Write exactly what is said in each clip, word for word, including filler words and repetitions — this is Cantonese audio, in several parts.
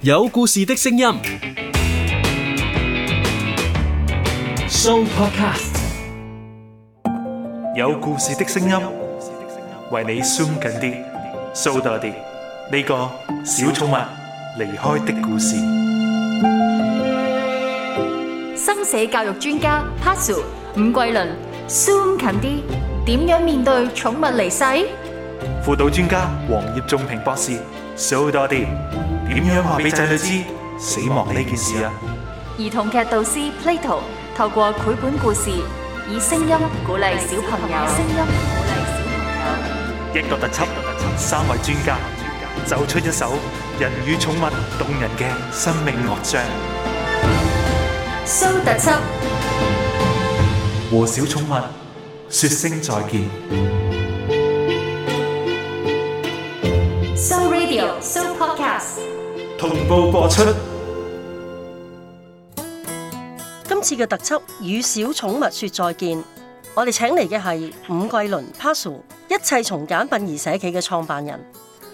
有故事的聲音 Show Podcast， 有故事的聲音，為你 zoom 近啲，show 多啲。呢個小寵物離開的故事。 生死教育專家 Pasu 伍桂麟 zoom 近啲，點樣面對寵物離世？ 輔導專家黃葉仲平博士 show 多啲，點樣話俾仔女知死亡呢件事啊？ 兒童劇導師 Plato 透過繪本故事，以聲音鼓勵小朋友。聲音鼓勵小朋友。 一個特輯，三位專家奏出一首人與寵物動人嘅生命樂章。 蘇特輯和小寵物說聲再見。 So Radio So Podcast 同步播出。 今次嘅特輯與小寵物說再見，我哋請嚟嘅係伍桂麟 Pasu， 一切從簡殯儀社企嘅創辦人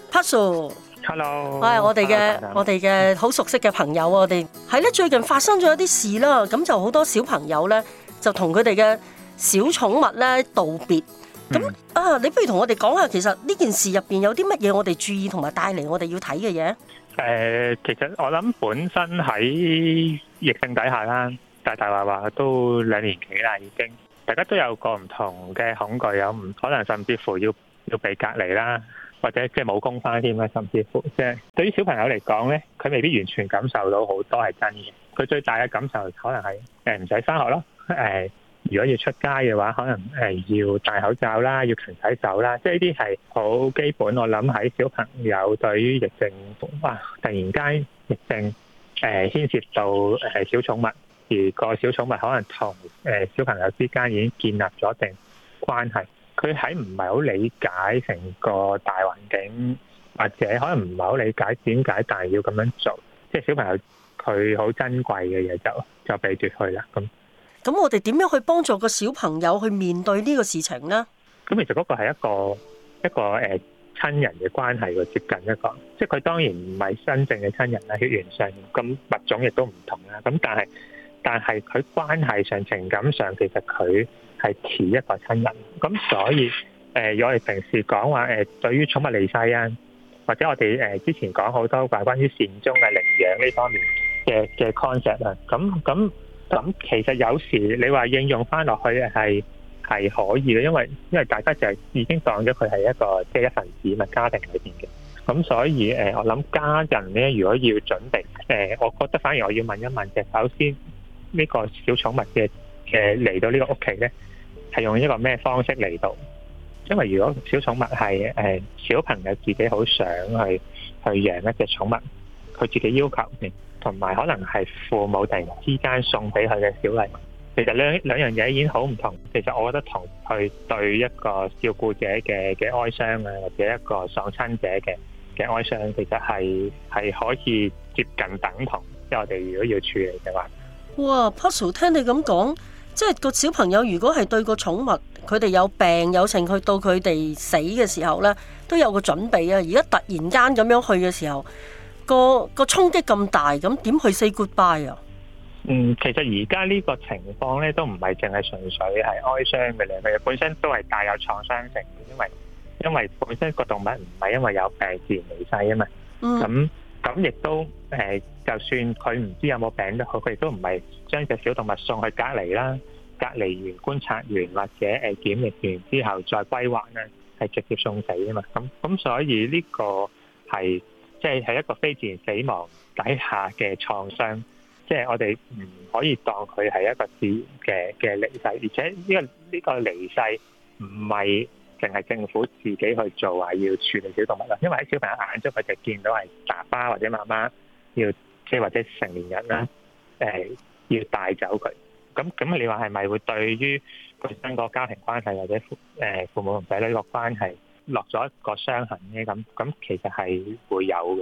Pasu。Hello， 係我哋嘅我哋嘅好熟悉嘅朋友，我哋係咧最近發生咗一啲事啦，咁就好多小朋友咧就同佢哋嘅小寵物咧道別。咁、嗯、啊，你不如同我哋講下，其實呢件事入邊有啲乜嘢我哋注意同埋帶嚟我哋要睇嘅嘢？誒、 呃，其實我諗本身喺疫症底下啦，大大話話都兩年幾啦，已經大家都有個唔同嘅恐懼，有唔可能甚至乎要要被隔離啦，或者即係冇工返添啦，甚至乎即係對於小朋友嚟講咧，佢未必完全感受到好多係真嘅。佢最大嘅感受可能係誒唔使返學咯，誒、呃。如果要出街嘅話，可能誒要戴口罩啦，要勤洗手啦，即係呢啲係好基本。我諗喺小朋友對於疫症，哇！突然間疫症誒牽涉到誒小寵物，而個小寵物可能同誒小朋友之間已經建立咗一定關係，佢喺唔係好理解成個大環境，或者可能唔係好理解點解但係要咁樣做，即係小朋友佢好珍貴嘅嘢就就被奪去啦咁。 咁我哋點樣去幫助個小朋友去面對呢個事情呢？ 咁其實嗰個係一個一個誒親人嘅關係喎，接近一個，即係佢當然唔係真正嘅親人啦，血緣上咁物種亦都唔同啦。咁但係但係佢關係上、情感上，其實佢係似一個親人。咁所以誒，如果我哋平時講話誒，對於寵物離世啊，或者我哋誒之前講好多話關於善終嘅領養呢方面嘅嘅 concept 啊，咁咁。咁其實有時你話應用翻落去係係可以嘅，因為因為大家就係已經當咗佢係一個即係一份子嘛，家庭裏邊嘅。咁所以誒，我諗家人咧，如果要準備誒，我覺得反而我要問一問嘅，首先呢個小寵物嘅嘅嚟到呢個屋企咧，係用一個咩方式嚟到？因為如果小寵物係誒小朋友自己好想去去養一隻寵物，佢自己要求嘅。同埋可能係父母突然之間送俾佢嘅小禮物，其實兩兩樣嘢已經好唔同。其實我覺得同佢對一個照顧者嘅嘅哀傷啊，或者一個喪親者嘅嘅哀傷，其實係係可以接近等同。即係我哋如果要處理嘅話， 哇 Pasu 聽你咁講，即係個小朋友如果係對個寵物，佢哋有病有情，去到佢哋死嘅時候咧，都有個準備啊。而家突然間咁樣去嘅時候，個個衝擊咁大，咁點去 say goodbye 啊？ 嗯，其實而家呢個情況咧，都唔係淨係純粹係哀傷嘅咧，佢本身都係帶有創傷性嘅，因為因為本身個動物唔係因為有病自然離世啊嘛。咁咁亦都誒、呃，就算佢唔知有冇病都好，佢亦都唔係將隻小動物送去隔離啦，隔離完觀察完或者誒檢疫完之後再歸還咧，係直接送死啊嘛。咁咁所以呢個係。即係係一個非自然死亡底下嘅創傷，即係我哋唔可以當佢係一個自然嘅嘅離世，而且呢個呢個離世唔係淨係政府自己去做話要處理小動物啦，因為喺小朋友眼中佢就見到係爸爸或者媽媽要即係或者成年人啦，誒要帶走佢，咁咁你話係咪會對於本身個家庭關係或者父誒父母同仔女個關係落咗一個傷痕咧？咁咁其實係會有嘅。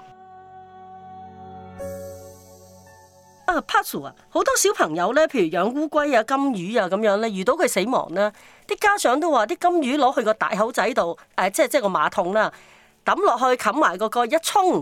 啊 Pasu 啊，好多小朋友咧，譬如養烏龜啊、金魚啊咁樣咧，遇到佢死亡咧，啲家長都話啲金魚攞去個大口仔度，誒、呃，即係即係個馬桶啦，抌落去冚埋個蓋一沖，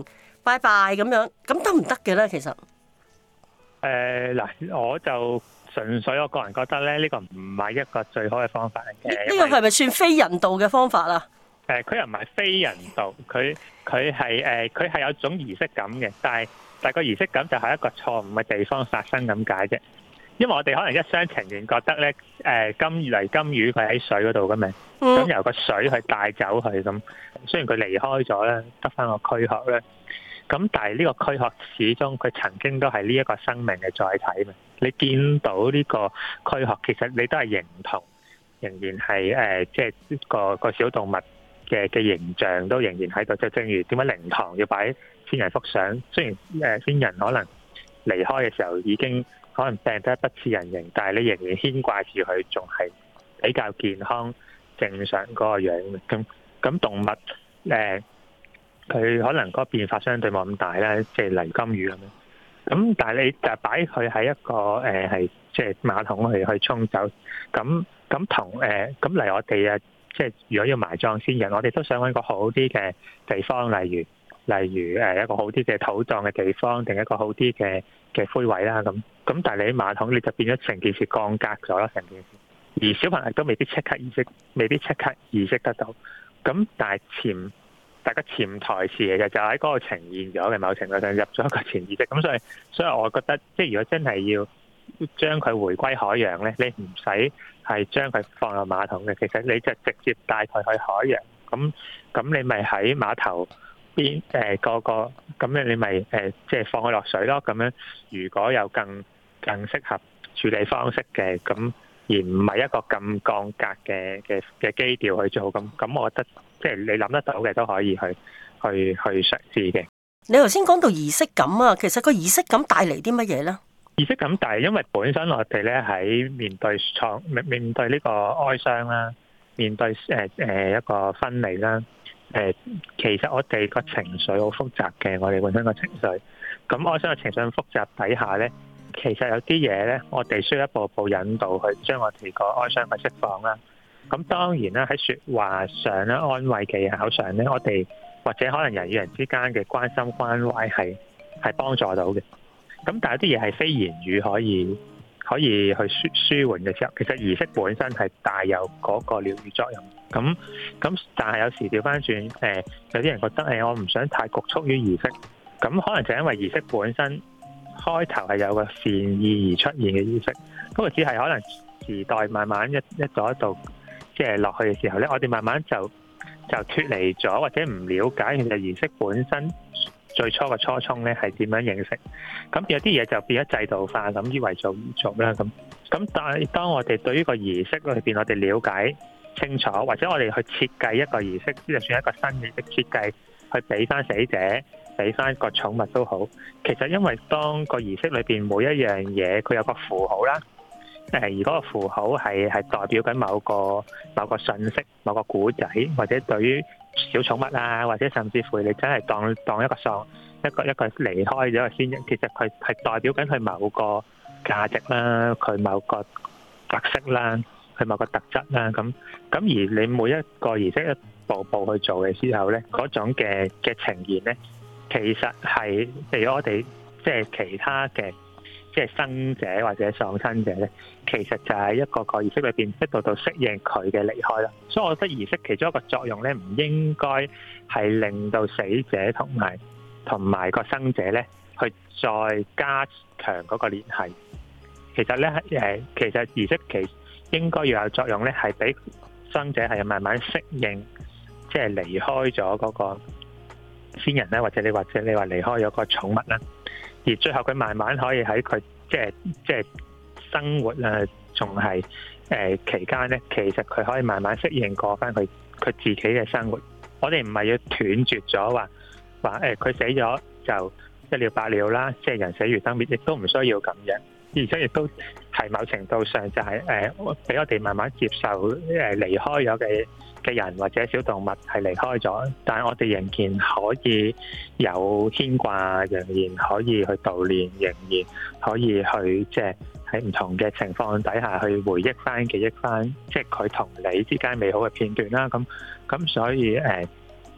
拜拜咁樣，咁得唔得嘅咧？其實誒嗱、呃，我就純粹我個人覺得咧，呢、這個唔係一個最好嘅方法嚟嘅。 呢個係咪算非人道嘅方法啊？ 誒、呃，佢又唔係非人道，佢佢係誒，佢係、呃、有種儀式感嘅，但係但係個儀式感就係一個錯誤嘅地方發生咁解啫。因為我哋可能一廂情願覺得咧，誒、呃、金魚嚟金魚佢喺水嗰度嘅嘛，咁、嗯、由個水去帶走佢咁。雖然佢離開咗咧，得翻個軀殼咧，咁但係呢個軀殼始終佢曾經都係呢一個生命嘅載體嘛。你見到呢個軀殼，其實你都係認同，仍然係誒，即係個個小動物嘅嘅形象都仍然喺度。就正如點解靈堂要擺先人幅相，雖然誒先人可能離開嘅時候已經可能病得不似人形，但係你仍然牽掛住佢，仲係比較健康正常嗰個樣嘅。咁咁動物誒，佢、呃、可能嗰個變化相對冇咁大啦，即係例如金魚咁樣。咁但係你就擺佢喺一個誒係即係馬桶去去沖走。咁咁同誒咁嚟我哋啊，即係如果要埋葬先人，我哋都想揾個好啲嘅地方，例如例如誒一個好啲嘅土葬嘅地方，定一個好啲嘅嘅灰位啦。咁咁但係你喺馬桶，你就變咗成件事降格咗啦，成件事。而小朋友都未必即刻意識，未必即刻意識得到。咁但係潛大家潛台詞嚟嘅，就喺嗰個呈現咗嘅，某程度上入咗一個潛意識。咁所以所以我覺得，即係如果真係要將佢回歸海洋咧，你唔使係將佢放入馬桶嘅，其實你就直接帶佢去海洋。咁咁你咪喺碼頭邊誒、呃、個個咁樣，你咪誒即係放佢落水咯。咁樣如果有更更適合處理方式嘅咁。而唔係一個咁降格嘅嘅嘅基調去做，咁咁，我覺得即係你諗得到嘅都可以去去去嘗試嘅。 你頭先講到儀式感啊，其實個儀式感帶嚟啲乜嘢咧？ 儀式感，但係因為本身我哋咧喺面對創面面對呢個哀傷啦，面對誒誒一個分離啦，誒其實我哋個情緒好複雜嘅，我哋本身個情緒，咁哀傷嘅情緒複雜底下咧。其實有啲嘢咧，我哋需要一步步引導去將我哋個哀傷去釋放啦。咁當然啦，喺説話上咧、安慰技巧上咧，我哋或者可能人與人之間嘅關心關懷係係幫助到嘅。咁但係有啲嘢係非言語可以可以去舒舒緩嘅時候，其實儀式本身係帶有嗰個療愈作用。咁咁但係有時調翻轉，誒、呃、有啲人覺得誒、欸、我唔想太局促於儀式，咁可能就因為儀式本身。開頭係有個善意而出現嘅意識，不過只係可能時代慢慢一一度一度即係落去嘅時候咧，我哋慢慢就就脫離咗或者唔了解其實儀式本身最初嘅初衷咧係點樣認識，咁有啲嘢就變咗制度化咁以為做而做啦咁。咁但係當我哋對於個儀式裏邊我哋了解清楚，或者我哋去設計一個儀式，就算一個新嘅設計去俾翻死者。俾翻個寵物都好，其實因為當個儀式裏邊每一樣嘢佢有個符號啦，誒而嗰個符號係係代表緊某個某個信息、某個古仔，或者對於小寵物啊，或者甚至乎你真係當當一個喪一個一個離開咗嘅先人，其實佢係代表緊佢某個價值啦，佢某個特色啦，佢某個特質啦，咁咁而你每一個儀式一步步去做嘅時候咧，嗰種嘅嘅呈現咧。其實係譬如我哋即係其他嘅即係生者或者喪親者咧，其實就係一個個儀式裏邊一度度適應佢嘅離開啦。所以我覺得儀式其中一個作用咧，唔應該係令到死者同埋同埋個生者咧去再加強嗰個聯繫。其實咧誒，其實儀式其應該要有作用咧，係俾生者係慢慢適應，即係離開咗嗰個先人咧，或者你或者你話離開咗個寵物啦，而最後佢慢慢可以喺佢即係即係生活啊，仲係誒期間咧，其實佢可以慢慢適應過翻佢佢自己嘅生活。我哋唔係要斷絕咗話話誒佢死咗就一了百了啦，即係人死如燈滅，亦都唔需要咁樣。而且亦都係某程度上就係誒俾我哋慢慢接受誒離開咗嘅嘅人或者小動物係離開咗，但係我哋仍然可以有牽掛，仍然可以去悼念，仍然可以去即係喺唔同嘅情況底下去回憶翻、記憶翻，即係佢同你之間美好嘅片段啦。咁咁所以誒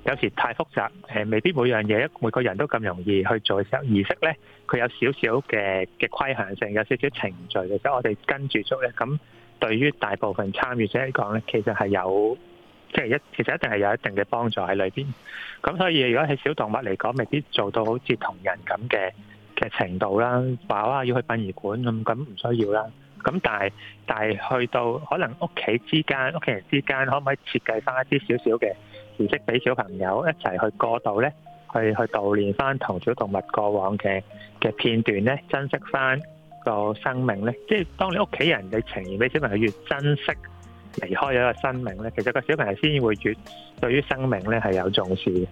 有時太複雜，誒未必每樣嘢每個人都咁容易去做嘅時候，儀式咧佢有少少嘅嘅規限性，有少少程序嘅時候，我哋跟住做咧，咁對於大部分參與者嚟講咧，其實係有即係一其實一定係有一定嘅幫助喺裏邊。咁所以如果係小動物嚟講，未必做到好似同人咁嘅嘅程度啦，話哇要去殯儀館咁，咁唔需要啦。咁但係但係去到可能屋企之間、屋企人之間，可唔可以設計翻一啲少少嘅儀式俾小朋友一齊去過渡咧？去去悼念翻同小動物過往嘅嘅片段咧，珍惜翻個生命咧。即係當你屋企人你呈現俾小朋友越珍惜離開咗一個生命咧，其實個小朋友先會越對於生命咧係有重視嘅。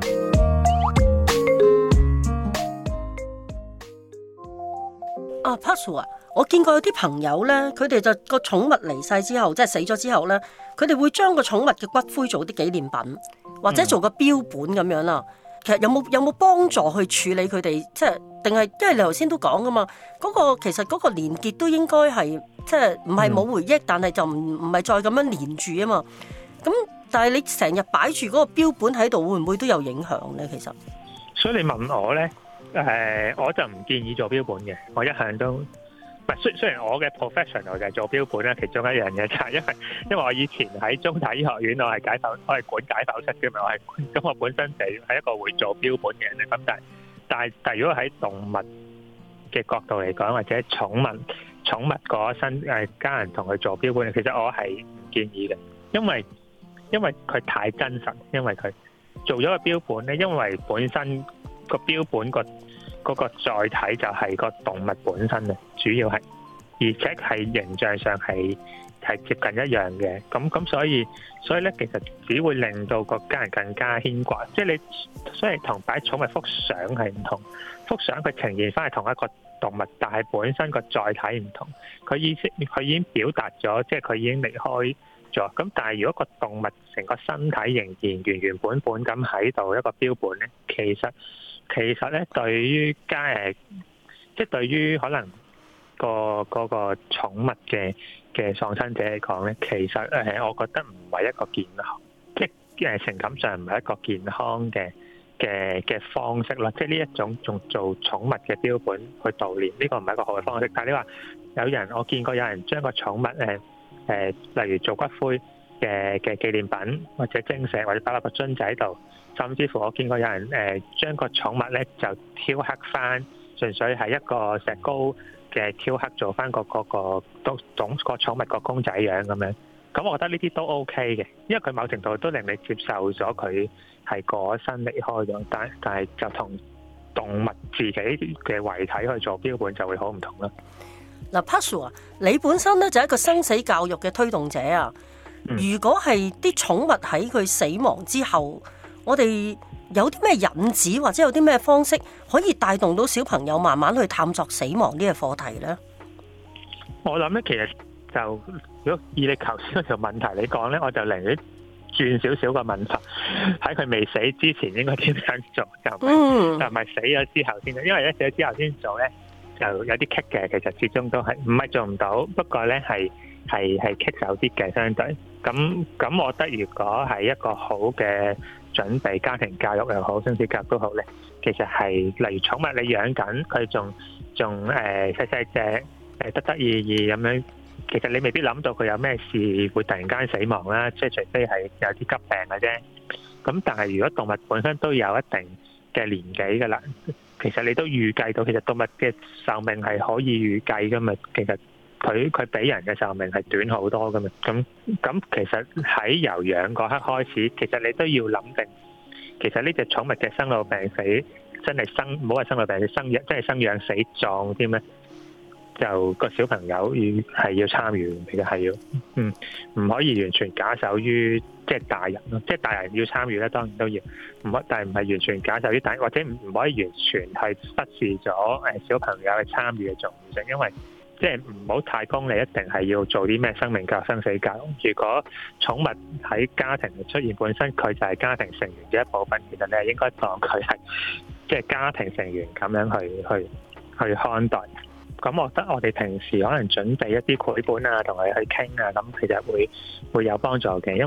啊 Pazu 啊，我見過有啲朋友咧，佢哋就個寵物離世之後，即係死咗之後咧，佢哋會將個寵物嘅骨灰做啲紀念品，或者做個標本咁樣啦。其實有冇有冇幫助去處理佢哋？即係定係因為你頭先都講噶嘛，嗰、嗰個其實嗰個連結都應該係即係唔係冇回憶，嗯、但係就唔唔係再咁樣連住啊嘛。咁但係你成日擺住嗰個標本喺度，會唔會都有影響咧？其實，所以你問我咧。 誒、呃，我就唔建議做標本嘅。我一向都唔係，雖雖然我嘅 professional 就係做標本啦，其中一樣嘢就係因為因為我以前喺中大醫學院，我係解剖，我係管解剖室嘅嘛，我係咁我本身就係一個會做標本嘅人咧。咁但係但係但係如果喺動物嘅角度嚟講，或者寵物寵物嗰身誒家人同佢做標本，其實我係唔建議嘅，因為因為佢太真實，因為佢做咗個標本咧，因為本身。個標本個嗰個載體就係個動物本身嘅，主要係，而且係形象上係係接近一樣嘅。咁咁所以所以咧，其實只會令到個家人更加牽掛。即係你，所以同擺寵物幅相係唔同，幅相佢呈現翻係同一個動物，但係本身個載體唔同。佢意思佢已經表達咗，即係佢已經離開咗。咁但係如果個動物成個身體仍然原原本本咁喺度一個標本咧，其實其實咧，對於家誒，即係對於可能個嗰個寵物嘅嘅喪生者嚟講咧，其實誒，我覺得唔係一個健康，即係誒情感上唔係一個健康嘅嘅嘅方式啦。即係呢一種仲做寵物嘅標本去悼念，呢個唔係一個好嘅方式。但係你話有人，我見過有人將個寵物誒誒，例如做骨灰嘅嘅紀念品，或者精石，或者擺落個樽仔度。甚至乎我見過有人誒將個寵物咧就雕刻翻，純粹係一個石膏嘅雕刻做翻個嗰個都總個寵物個公仔樣咁樣。咁我覺得呢啲都 OK 嘅，因為佢某程度都令你接受咗佢係過咗身離開咗，但但係就同動物自己嘅遺體去做標本就會好唔同啦。 嗱 Pazu 啊，你本身咧就係一個生死教育嘅推動者啊。如果係啲寵物喺佢死亡之後，我哋有啲咩引子或者有啲咩方式可以帶動到小朋友慢慢去探索死亡呢個課題呢？ 我諗咧，其實就如果以你頭先嗰條問題嚟講咧，我就寧願轉少少個問題，喺佢未死之前應該點樣做，就唔係、嗯、就唔係死咗之後先做，因為咧死咗之後先做咧就有啲棘嘅，其實始終都係唔係做唔到，不過咧係係係棘手啲嘅相對。咁咁，我覺得如果係一個好嘅準備，家庭教育又好，生死教育都好咧，其實係例如寵物你養緊，佢仲仲誒細細隻誒得得意意咁樣，其實你未必諗到佢有咩事會突然間死亡啦，即係除非係有啲急病嘅啫。咁但係如果動物本身都有一定嘅年紀㗎啦，其實你都預計到，其實動物嘅壽命係可以預計㗎嘛，其實。佢佢比人嘅壽命係短好多㗎嘛，咁咁其實喺由養嗰刻開始，其實你都要諗定，其實呢隻寵物嘅生老病死真係生唔好話生老病死，生養真係生養死葬添咧，就個小朋友要係要參與，其實係要，嗯，唔可以完全假手於即係大人咯，即係大人要參與咧，當然都要，唔可但係唔係完全假手於大人，或者唔唔可以完全係忽視咗誒小朋友嘅參與嘅重要性，因為。即係唔好太功利，一定係要做啲咩生命教育、生死教育。如果寵物喺家庭出現本身，佢就係家庭成員嘅一部分，其實你係應該當佢係即係家庭成員咁樣去去去看待。咁我覺得我哋平時可能準備一啲繪本啊，同佢去傾啊，咁其實會會有幫助嘅。因為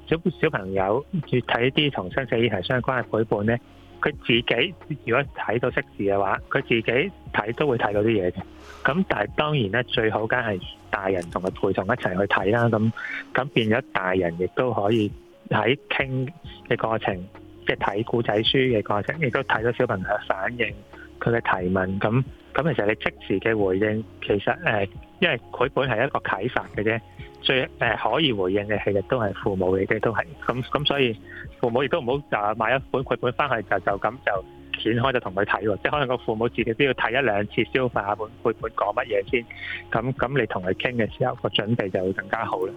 小小朋友越睇啲同生死議題相關嘅繪本咧，佢自己如果睇到識字嘅話，佢自己睇都會睇到啲嘢嘅。咁但係當然咧，最好梗係大人同佢陪同一齊去睇啦。咁咁變咗大人亦都可以喺傾嘅過程，即係睇故仔書嘅過程，亦都睇到小朋友嘅反應，佢嘅提問。咁咁其實你即時嘅回應，其實誒、呃，因為繪本係一個啟發嘅啫。最誒、呃、可以回應嘅其實都係父母嚟嘅，都係咁咁，所以父母亦都唔好就買一本繪本翻去就就咁就掀開就同佢睇喎，即係可能個父母自己都要睇一兩次消化下本繪本講乜嘢先，咁咁你同佢傾嘅時候個準備就會更加好啦。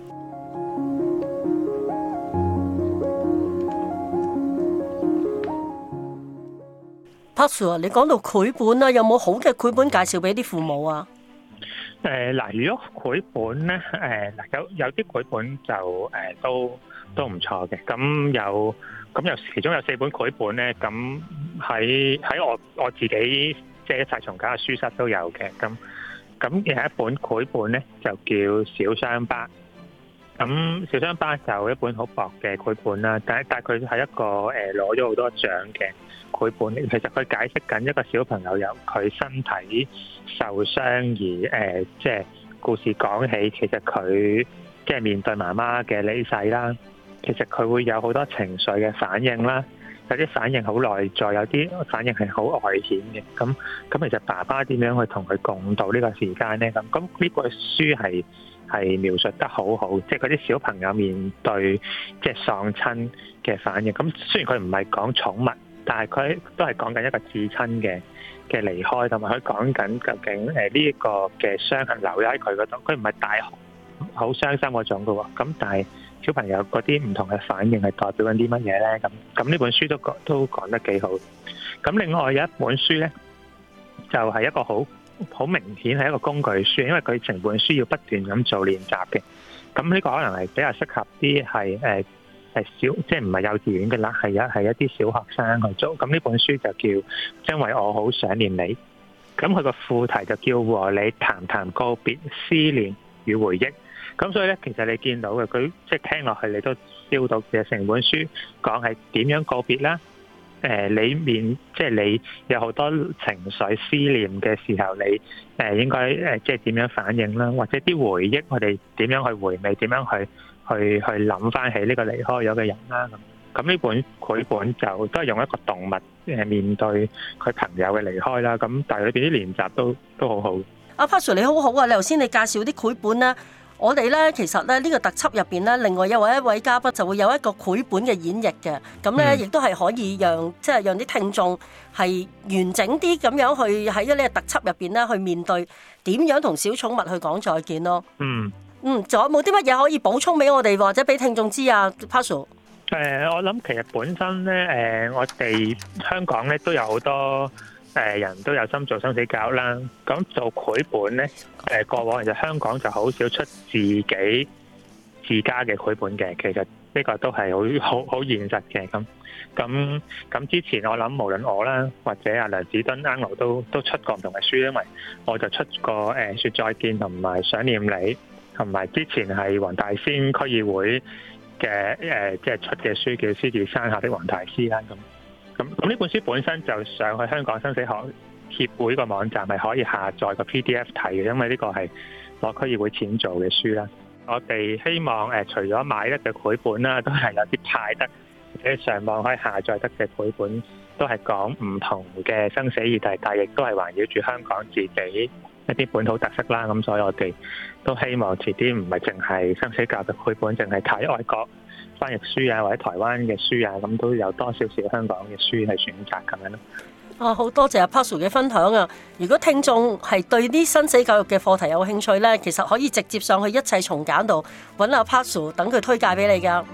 Pazu，你講到繪本啦，有冇好嘅繪本介紹俾啲父母啊？ 誒嗱、呃，如果繪本咧，誒、呃、嗱有有啲繪本就誒、呃、都都唔錯嘅。咁有咁有其中有四本繪本咧，咁喺喺我我自己即係一齊從簡嘅書室都有嘅。咁咁有一本繪本咧就叫小傷疤。咁小傷疤就一本好薄嘅繪本啦，但但係佢係一個誒攞咗好多獎嘅繪本。其實佢解釋緊一個小朋友由佢身體受傷而誒、呃，即係故事講起，其實佢即係面對媽媽嘅離世啦，其實佢會有好多情緒嘅反應啦，有啲反應好內在，有啲反應係好外顯嘅。咁咁其實爸爸點樣去同佢共度呢個時間呢？咁咁呢本書係係描述得好好，即係嗰啲小朋友面對即係喪親嘅反應。咁雖然佢唔係講寵物，但係佢都係講緊一個至親嘅嘅離開，同埋佢講緊究竟誒呢一個嘅傷痕留咗喺佢嗰度。佢唔係大好傷心嗰種嘅喎。咁但係小朋友嗰啲唔同嘅反應係代表緊啲乜嘢咧？咁咁呢本書都講都講得幾好。咁另外有一本書咧，就係、是、一個好好明顯係一個工具書，因為佢成本書要不斷咁做練習嘅。咁呢個可能係比較適合啲係誒係小，即係唔係幼稚園嘅啦，係一係一啲小學生去做。咁呢本書就叫因為我好想念你。咁佢個副題就叫和你談談告別、思念與回憶。咁所以咧，其實你見到嘅佢即係聽落去，你都 feel 到嘅成本書講係點樣告別啦。誒、呃，你面即係你有好多情緒思念嘅時候，你誒、呃、應該誒即係點樣反應啦，或者啲回憶，我哋點樣去回味，點樣去去去諗翻起呢個離開咗嘅人啦。咁咁呢本繪本就都係用一個動物誒面對佢朋友嘅離開啦。咁但係裏邊啲練習都都好好。 阿 Pazu 你好好啊！你頭先你介紹啲繪本咧。我哋咧其實咧呢個特輯入邊咧，另外有位一位嘉賓就會有一個繪本嘅演繹嘅，咁咧亦都係可以讓即係讓啲聽眾係完整啲咁樣去喺呢個特輯入邊咧去面對點樣同小寵物去講再見咯。嗯嗯，仲有冇啲乜嘢可以補充俾我哋或者俾聽眾知啊 Pazu？ 誒，我諗其實本身咧，誒、呃，我哋香港咧都有好多。誒人都有心做生死教育啦，咁做繪本咧，誒過往其實香港就好少出自己自家嘅繪本嘅，其實呢個都係好好好現實嘅。咁咁咁之前我諗無論我啦，或者阿梁子敦、Angelo 都都出過唔同嘅書，因為我就出過誒説再見同埋想念你，同埋之前係黃大仙區議會嘅誒即係出嘅書叫《獅子山下的黃大師》啦咁。咁咁呢本書本身就上去香港生死學協會個網站係可以下載個 P D F 睇嘅，因為呢個係攞區議會錢做嘅書啦。我哋希望誒、呃、除咗買得嘅繪本啦，都係有啲派得或者上網可以下載得嘅繪本，都係講唔同嘅生死議題，但係亦都係環繞住香港自己一啲本土特色啦。咁所以我哋都希望遲啲唔係淨係生死教育繪本，淨係睇外國翻譯書啊，或者台灣嘅書啊，咁都有多少少香港嘅書去選擇咁樣咯。 啊，好多謝阿 Pazu 嘅分享啊！如果聽眾係對啲生死教育嘅課題有興趣咧，其實可以直接上去一切從簡度揾阿 Pazu，等佢推介俾你噶。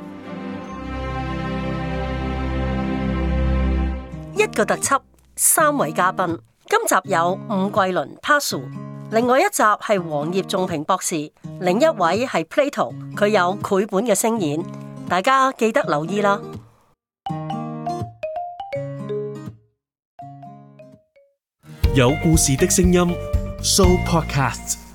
一個特輯，三位嘉賓，今集有伍桂麟 Pazu，另外一集係黃葉仲平博士，另一位係 Plato， 佢有繪本嘅聲演。大家記得留意啦！ 有故事的聲音 ，Show Podcast。